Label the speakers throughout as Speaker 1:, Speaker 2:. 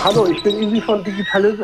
Speaker 1: Hallo, ich bin Isi von Digitalism.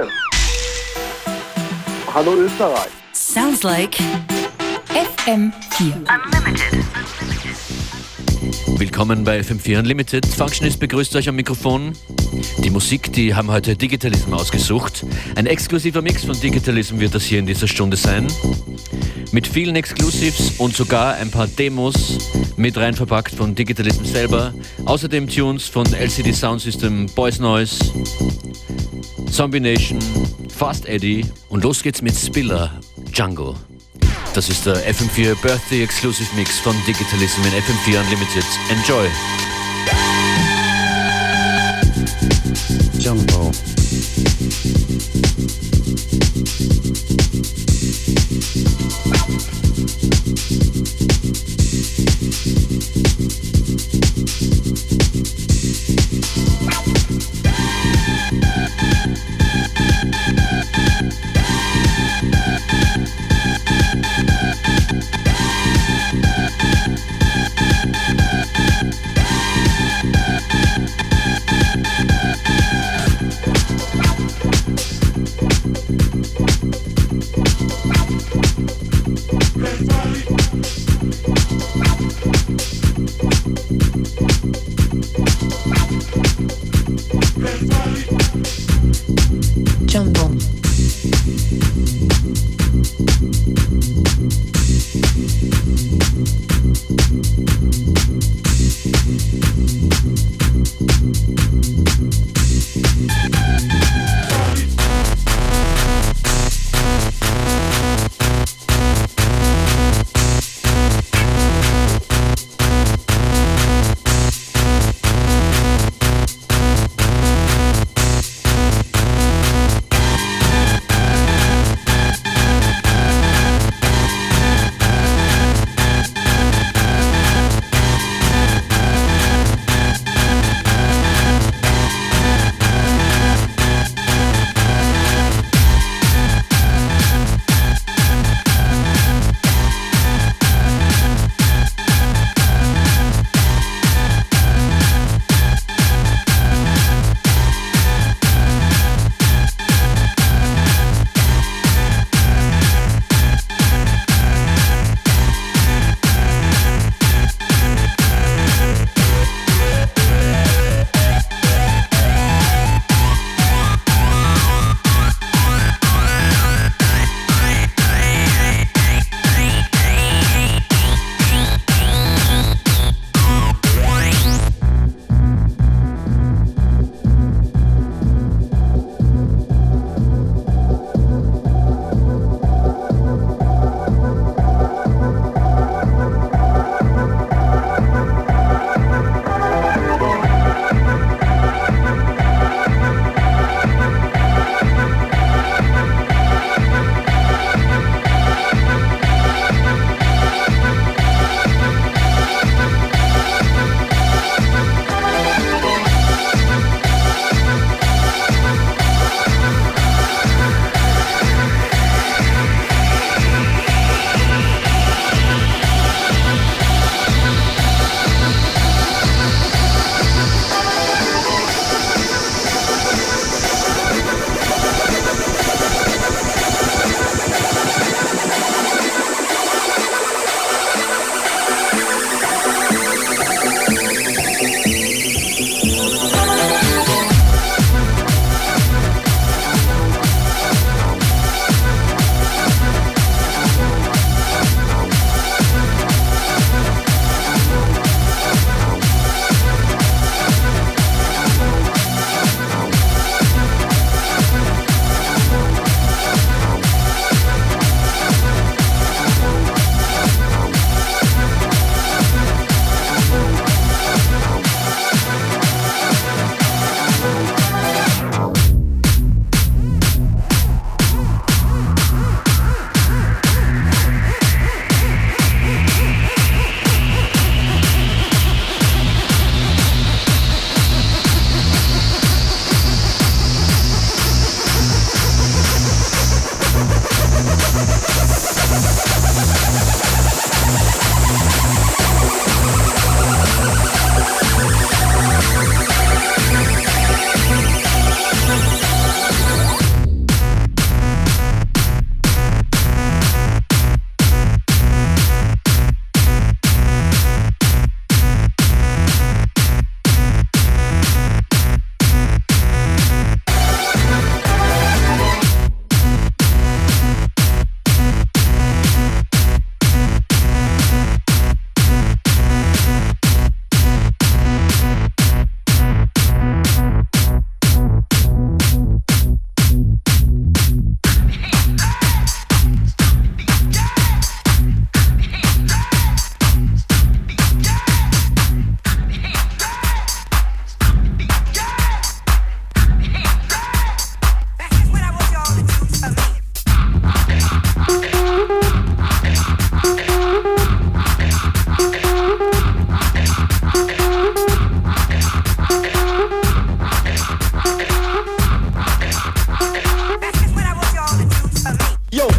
Speaker 1: Hallo Österreich.
Speaker 2: Sounds like FM4 Unlimited.
Speaker 3: Willkommen bei FM4 Unlimited. Functionist begrüßt euch am Mikrofon. Die Musik, die haben heute Digitalism ausgesucht. Ein exklusiver Mix von Digitalism wird das hier in dieser Stunde sein. Mit vielen Exclusives und sogar ein paar Demos mit rein verpackt von Digitalism selber. Außerdem Tunes von LCD Soundsystem, Boys Noise, Zombie Nation, Fast Eddie und los geht's mit Spiller, Jungle. Das ist der FM4 Birthday Exclusive Mix von Digitalism in FM4 Unlimited. Enjoy!
Speaker 4: Jungle.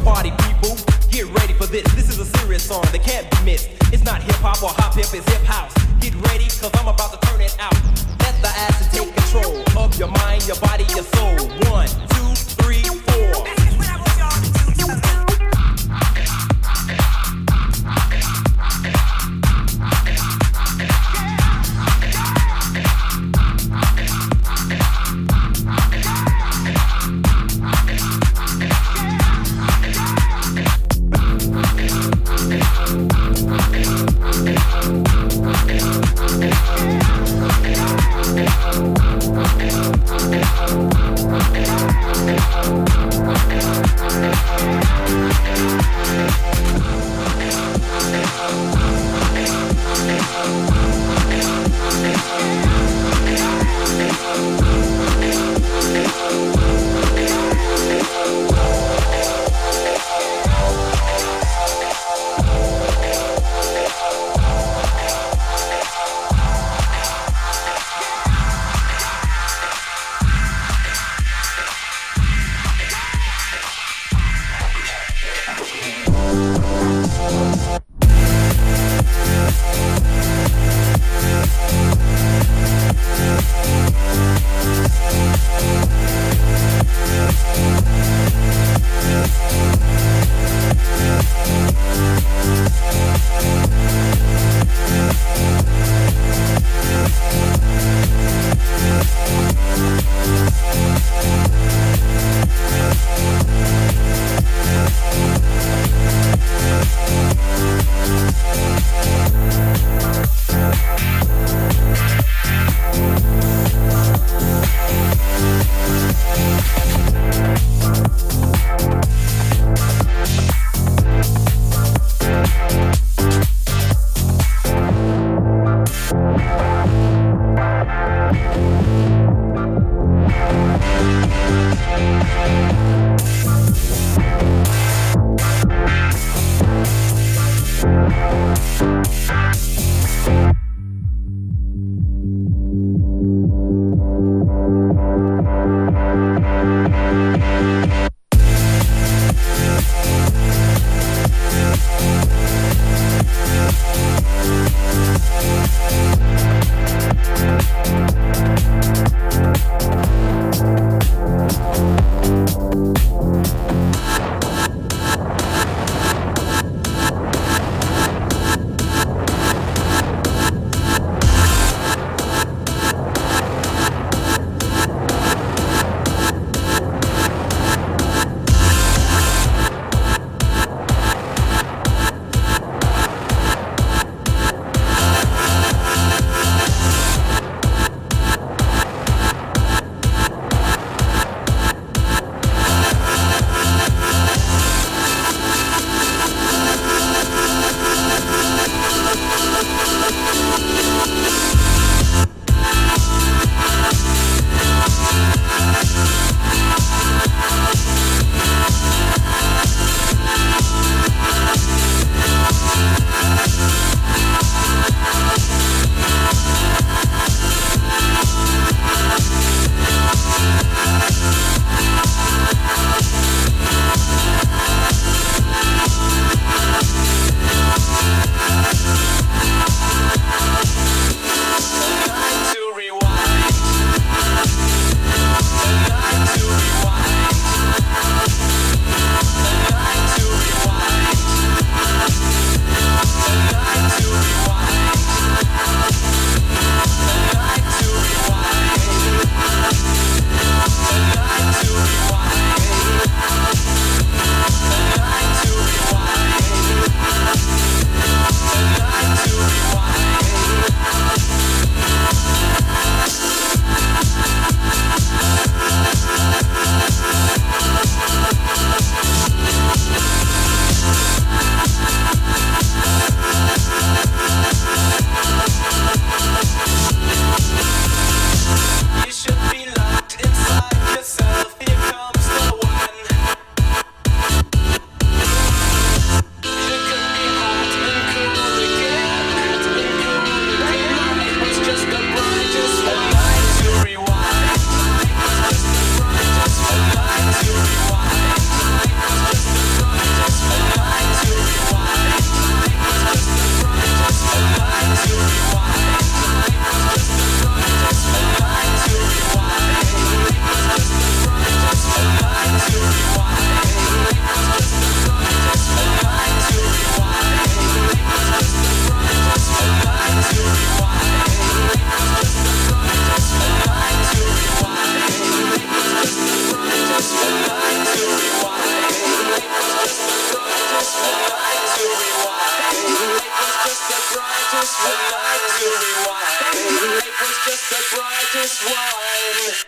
Speaker 4: party people, get ready for this. This is a serious song that can't be missed. It's not hip hop or hop hip, it's hip house. Get ready, cause I'm about to turn it out. Let the acid take control of your mind, your body, your soul. 1, 2, 3, 4.
Speaker 5: just would like to rewind. Life was just the brightest one.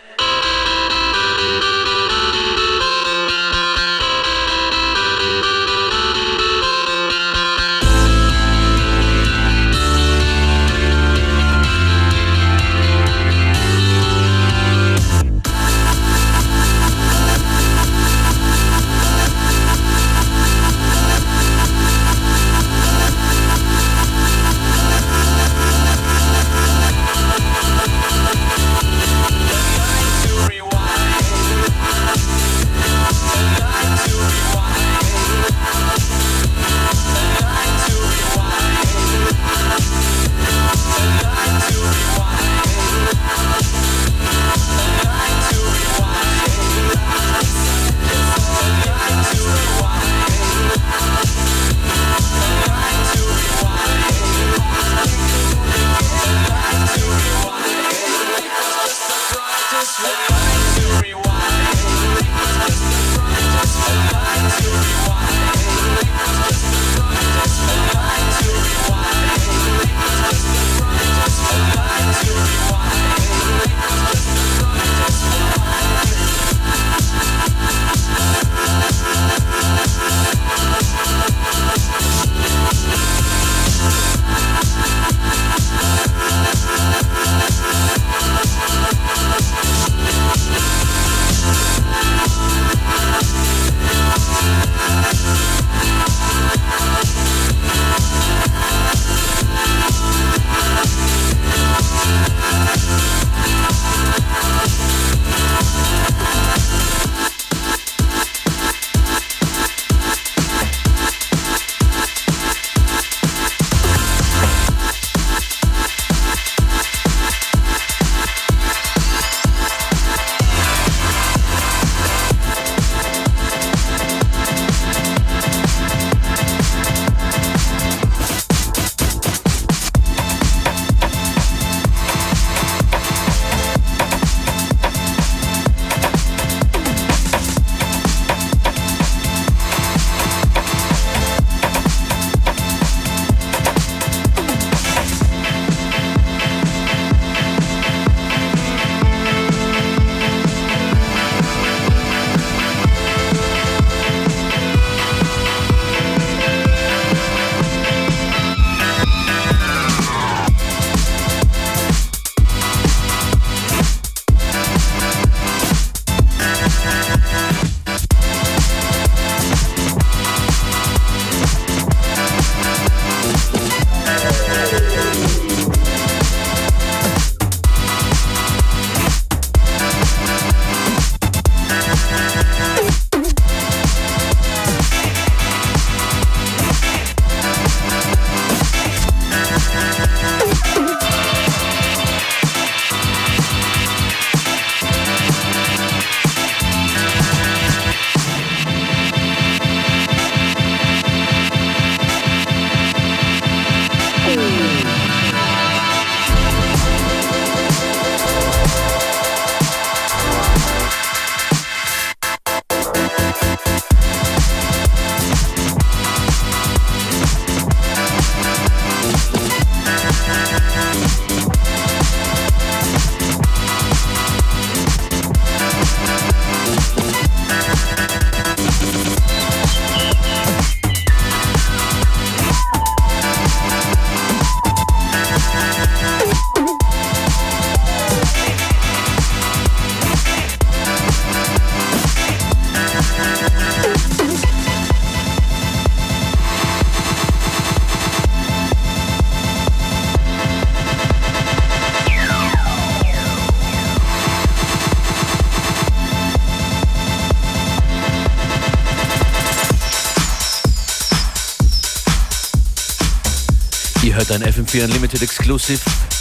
Speaker 3: Ihr hört ein FM4 Unlimited Exclusive.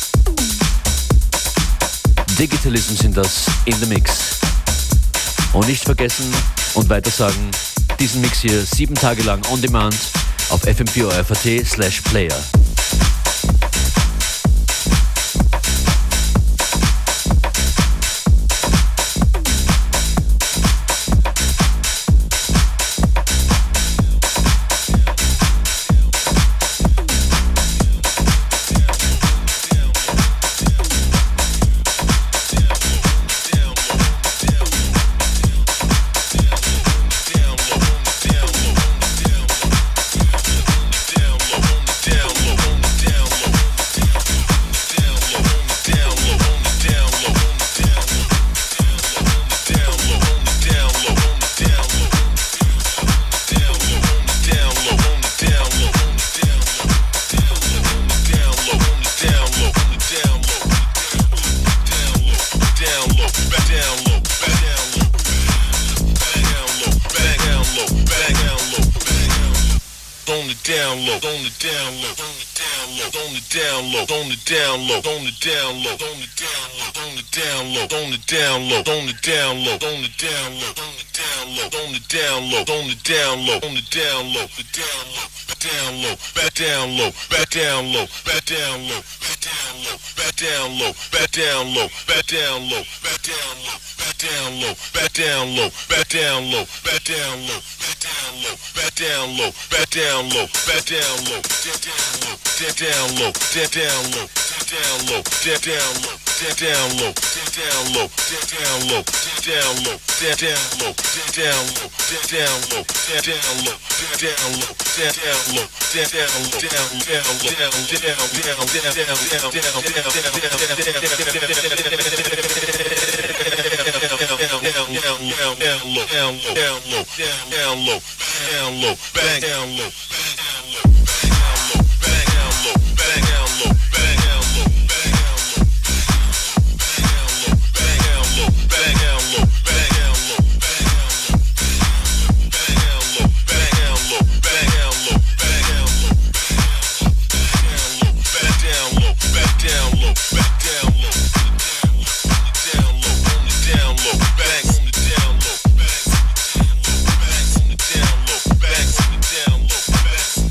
Speaker 3: Digitalism sind das in the Mix. Und nicht vergessen und weiter sagen, diesen Mix hier 7 Tage lang on demand auf fm4.at/player.
Speaker 5: on the down low, on the down low, on the down low, on the down low, on the down low, on the down low, on the down low, on the down low, on the down low, on the down low, on the down low, on the down low, on the down low, on the down low, on the down low, the down low, down low, back down low, back down low, back down low, back down low, back down low, back down low, back down low, back down low, back down low, back down low, back down low, back down low, back down low, back down low, back down low, back down low, down low, down low, down low, down low, down low, down low, down low, down low, down low, down low, down low, down low, down low, down low, down low, bang down low. Down low.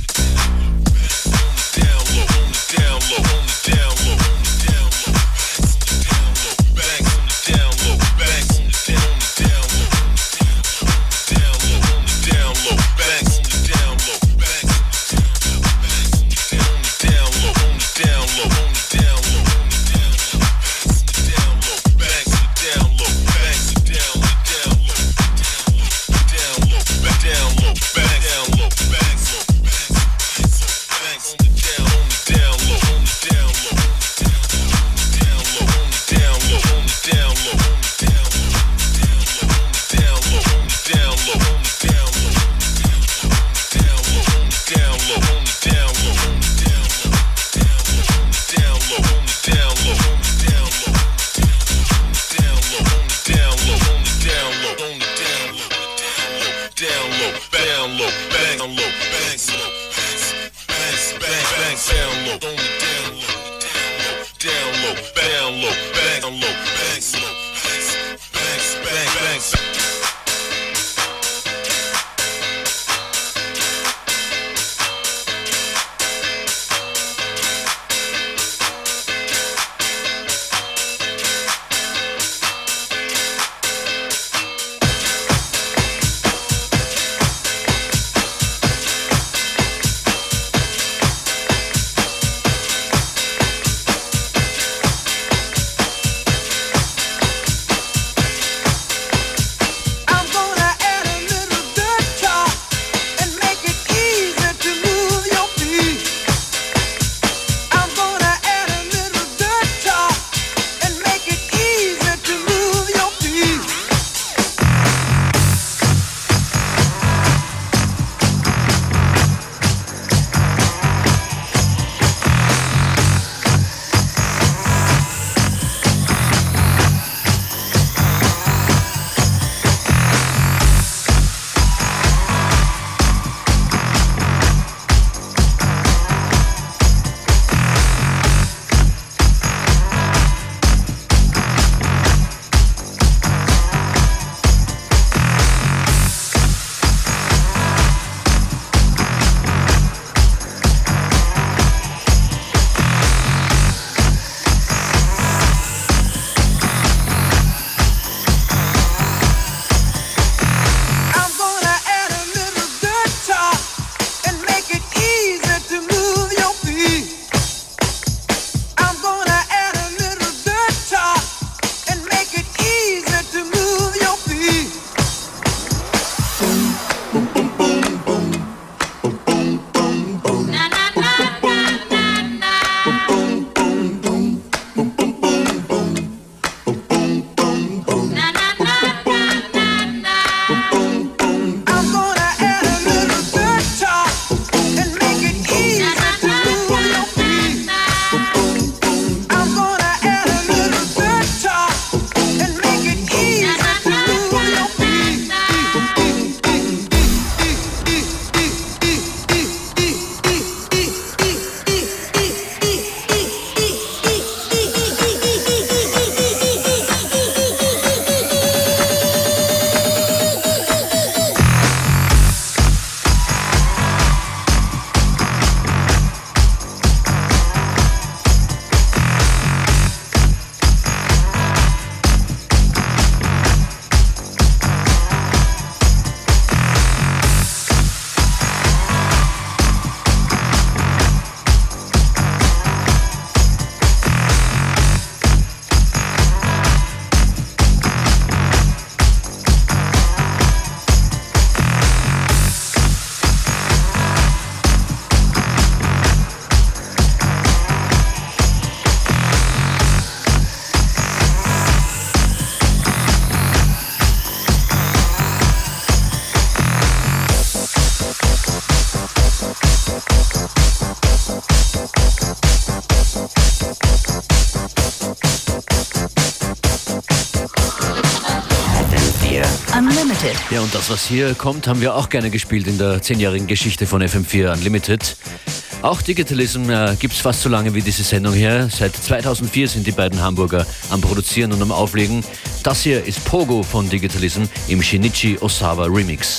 Speaker 2: Unlimited.
Speaker 3: Ja, und das, was hier kommt, haben wir auch gerne gespielt in der 10-jährigen Geschichte von FM4 Unlimited. Auch Digitalism gibt es fast so lange wie diese Sendung hier. Seit 2004 sind die beiden Hamburger am Produzieren und am Auflegen. Das hier ist Pogo von Digitalism im Shinichi Osawa Remix.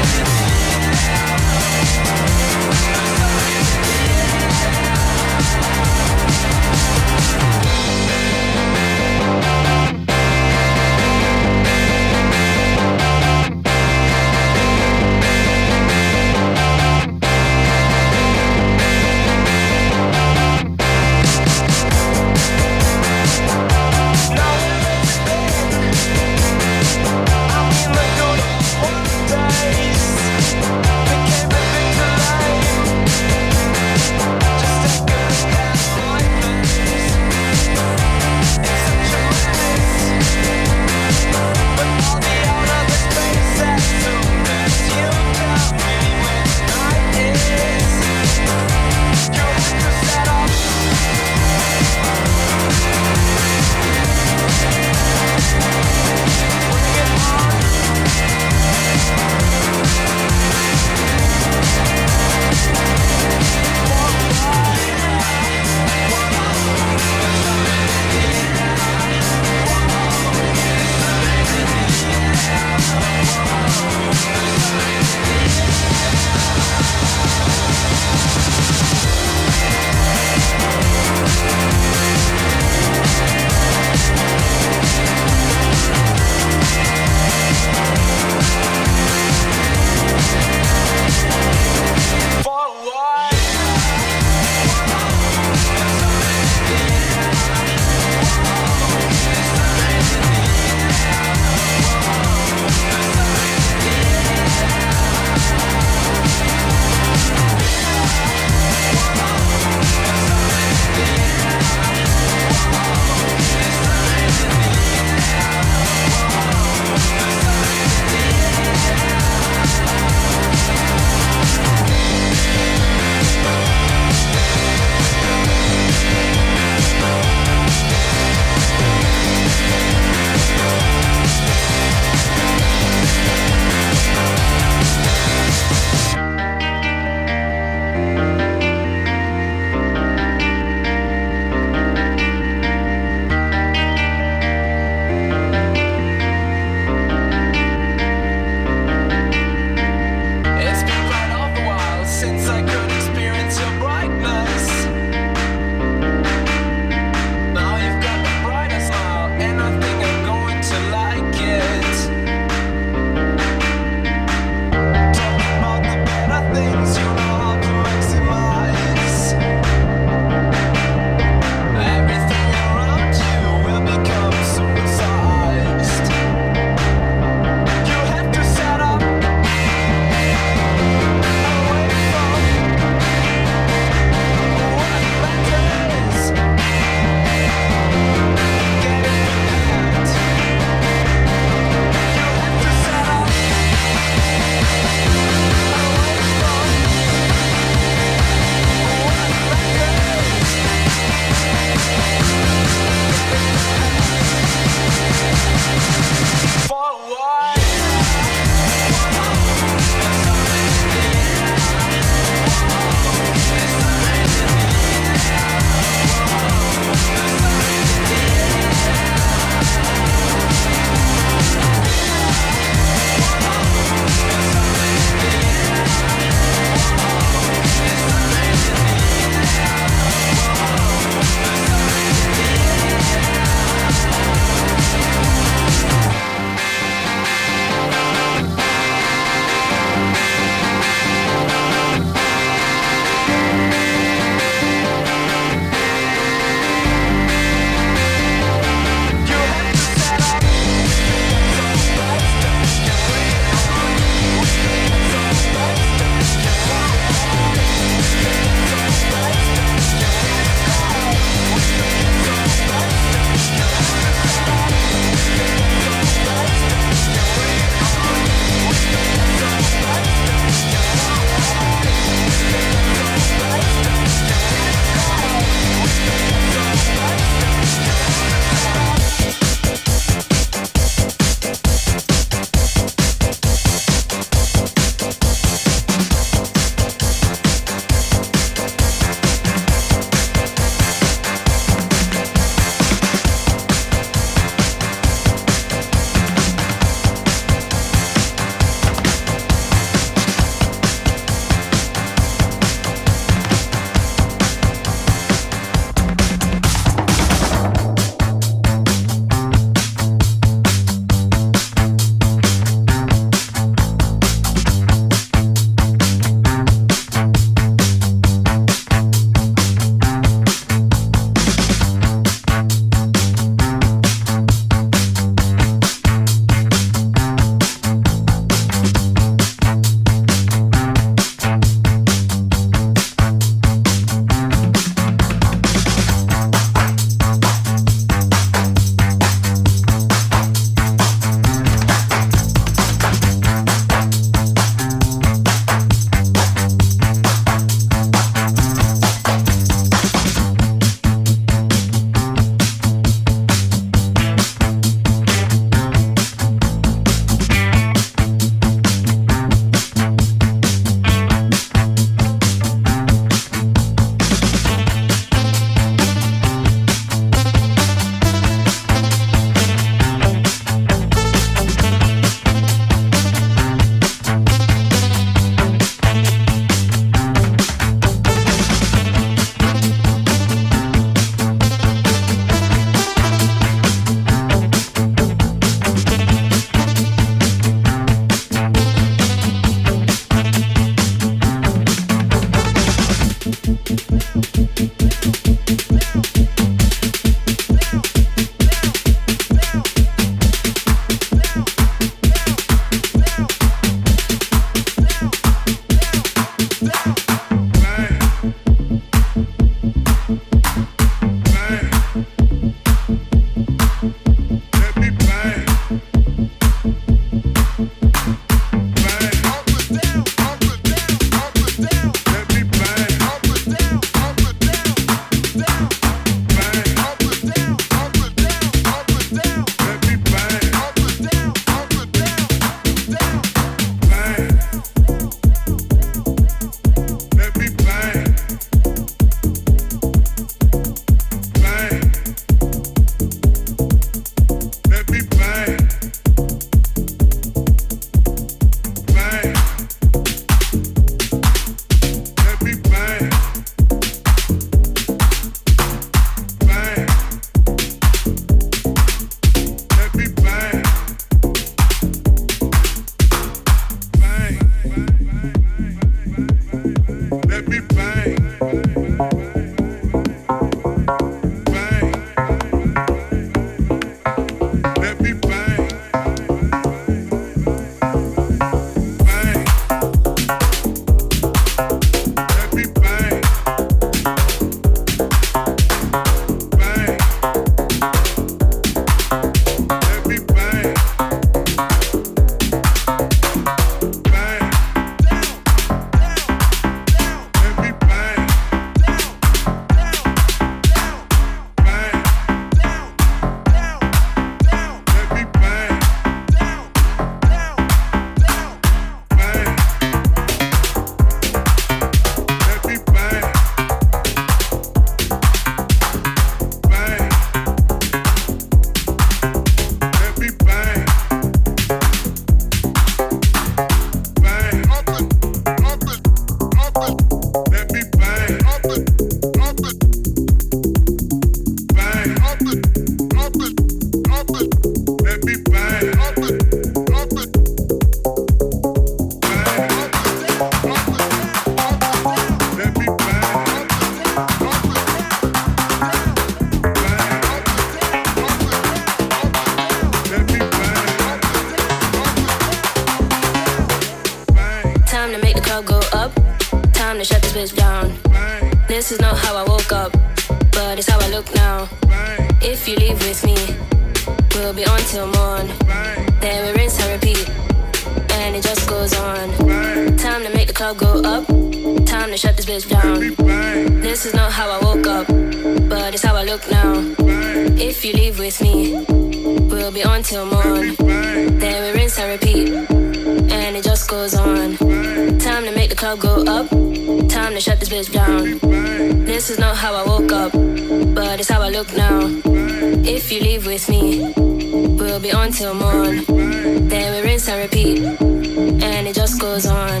Speaker 6: shut this bitch down. This is not how I woke up, but it's how I look now. If you leave with me, we'll be on till morn. Then we rinse and repeat, and it just goes on. Time to make the club go up, time to shut this bitch down. This is not how I woke up, but it's how I look now. If you leave with me, we'll be on till morn. Then we rinse and repeat, and it just goes on. Time to make the club go up, time to shut this bitch down. This is not how I woke up, but it's how I look now. If you leave with me, we'll be on till morn. Then we rinse and repeat, and it just goes on.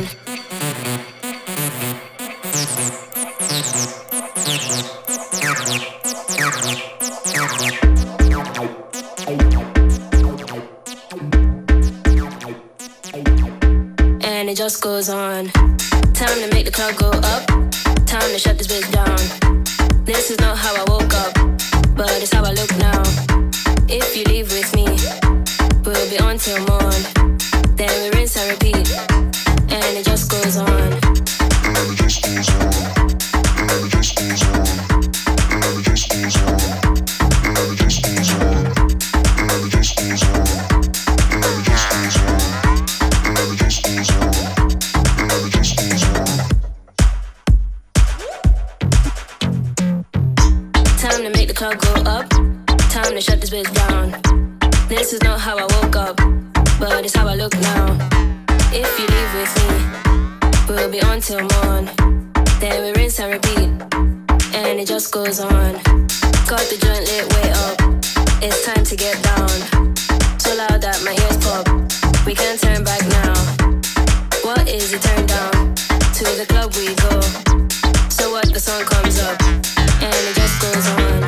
Speaker 6: And it just goes on. Time to make the club go up, time to shut this bitch down. This is not how I woke up, but it's how I look now. If you leave with me, we'll be on till morn. Then we rinse and repeat, and it just goes on. Time to make the club go up, time to shut this bitch down. This is not how I woke up, but it's how I look now. If you leave with me, we'll be on till morn. Then we rinse and repeat, and it just goes on. Got the joint lit way up, it's time to get down. So loud that my ears pop, we can't turn back now. What is it, turn down? To the club we go. So what, the sun comes up, and it just goes on.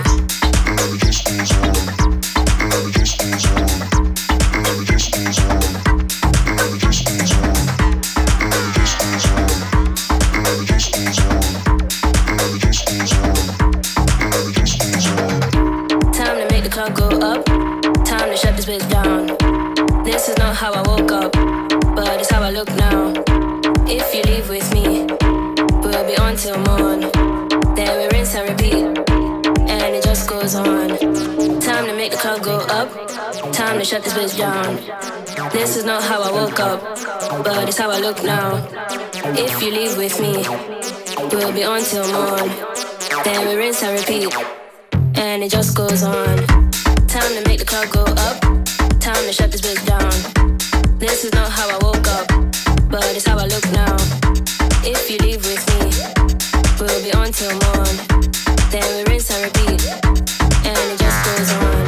Speaker 6: Time to make the club go up, time to shut this bitch down. This is not how I woke up, but it's how I look now. If you leave with me, we'll be on till morn. Then we rinse and repeat, and it just goes on. Time to make the club go up, time to shut this bitch down. This is not how I woke up, but it's how I look now. If you leave with me, we'll be on till morn. Then we rinse and repeat, and it just goes on. Time to make the club go up, time to shut this bitch down. This is not how I woke up, but it's how I look now. If you leave with me, we'll be on till morn. Then we rinse and repeat, and it just goes on.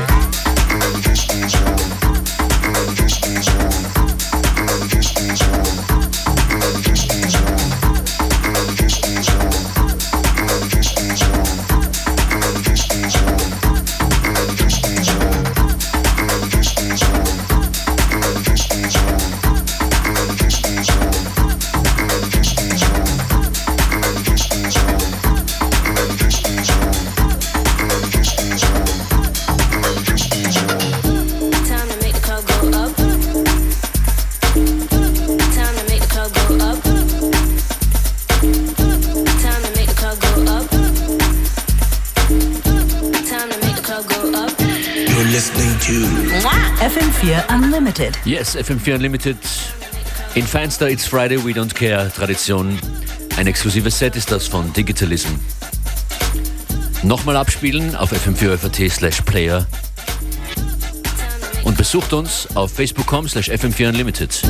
Speaker 2: FM4 Unlimited.
Speaker 3: Yes, FM4 Unlimited. In feinster It's Friday, We Don't Care Tradition. Ein exklusives Set ist das von Digitalism. Nochmal abspielen auf fm4.at/player. Und besucht uns auf facebook.com/FM4 Unlimited.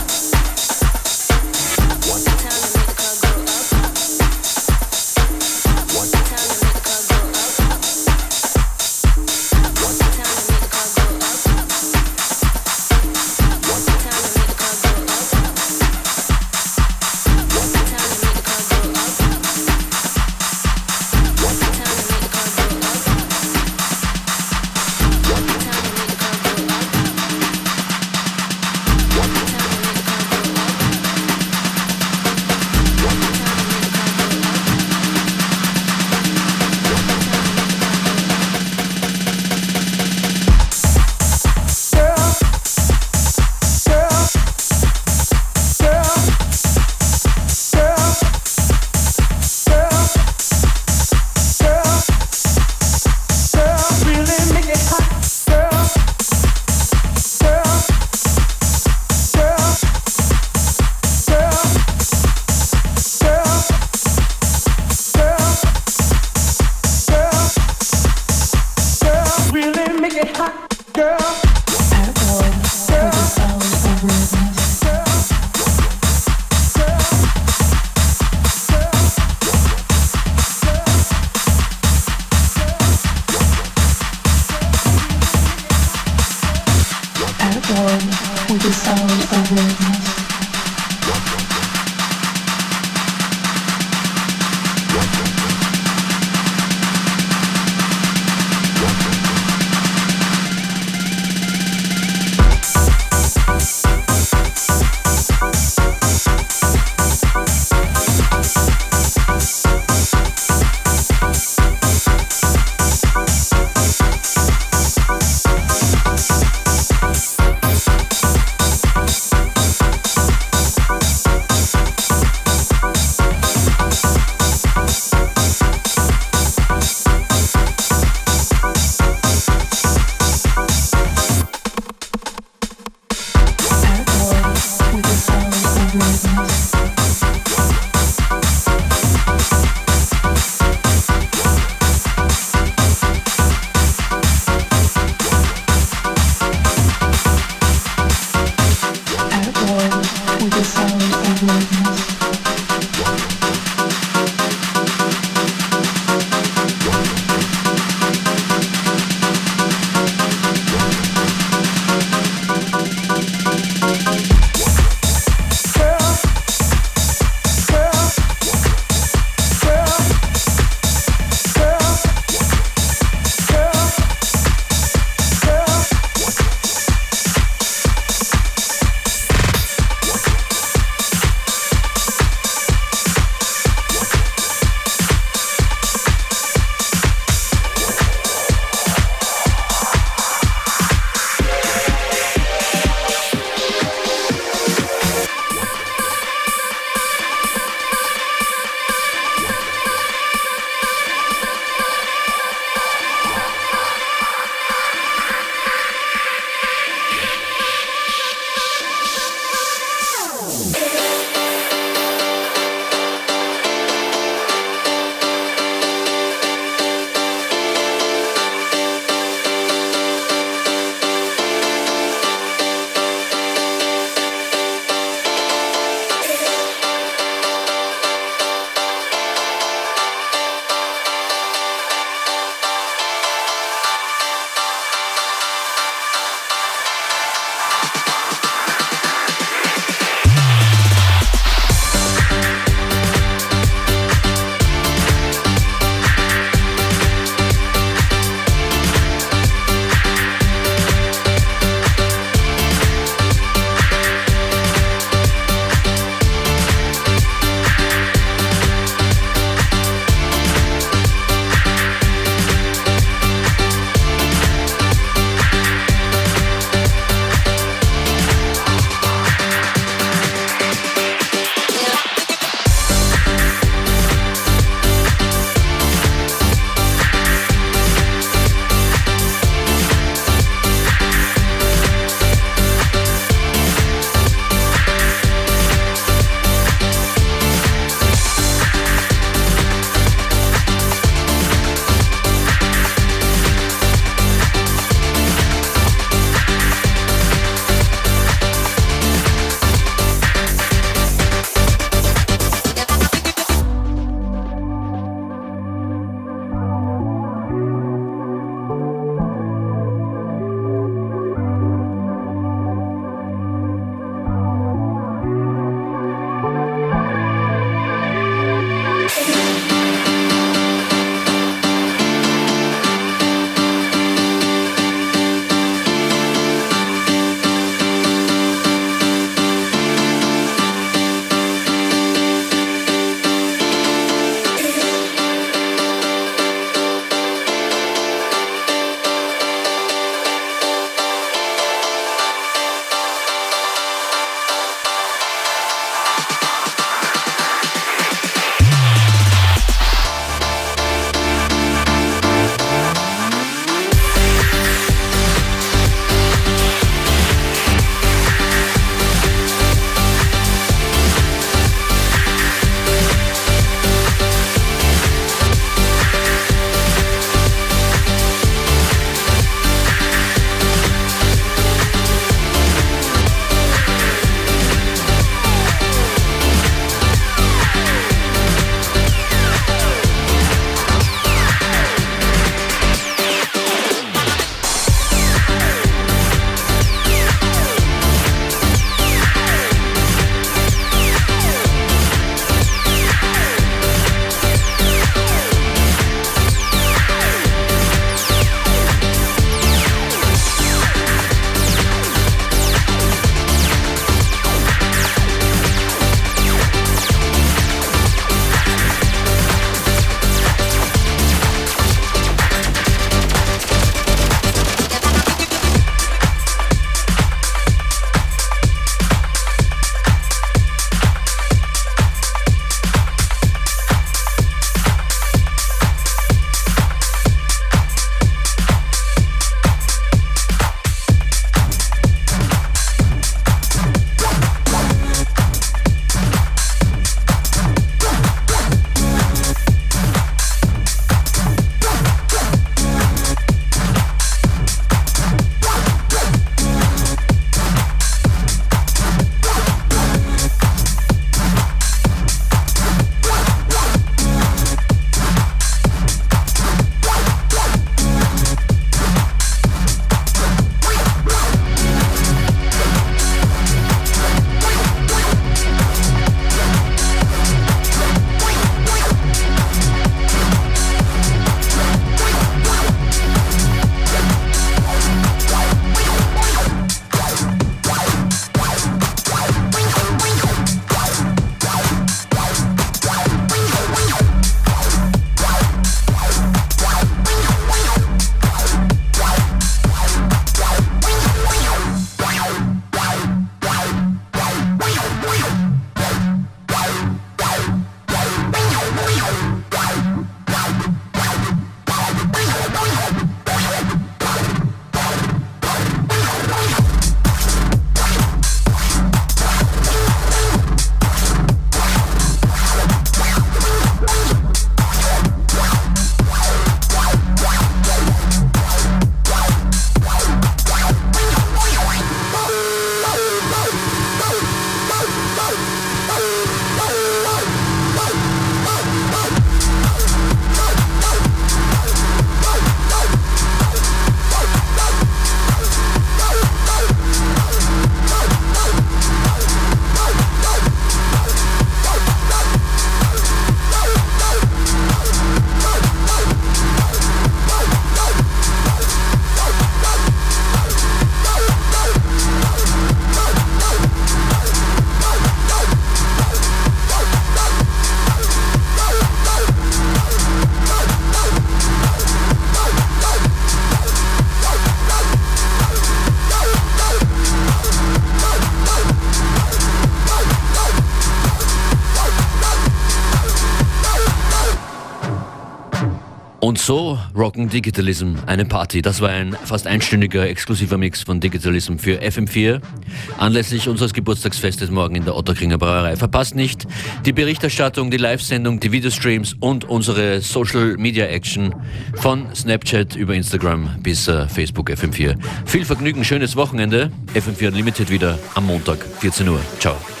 Speaker 3: Und so rocken Digitalism eine Party. Das war ein fast einstündiger exklusiver Mix von Digitalism für FM4 anlässlich unseres Geburtstagsfestes morgen in der Ottakringer Brauerei. Verpasst nicht die Berichterstattung, die Live-Sendung, die Videostreams und unsere Social-Media-Action von Snapchat über Instagram bis Facebook FM4. Viel Vergnügen, schönes Wochenende. FM4 Unlimited wieder am Montag, 14 Uhr. Ciao.